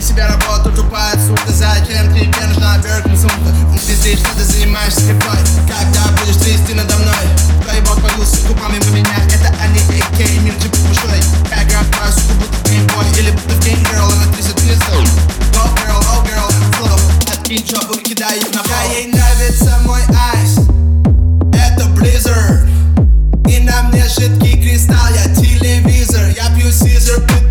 Из себя работу тупая, сука. Зачем тебе нужна Бёркин сумка? Ты здесь, что ты занимаешься скриптой? Когда будешь трясти надо мной? Твой бог появился губами у меня. Это они, AK, мир типа большой. Я играю в твою суку, будто геймбой. Или будто Game Girl, она трясет пистол. Go girl, oh girl, flow. Откинь жопу и кидай их на пол. Да, ей нравится мой айс. Это Blizzard. И на мне жидкий кристалл, я телевизор. Я пью Caesar,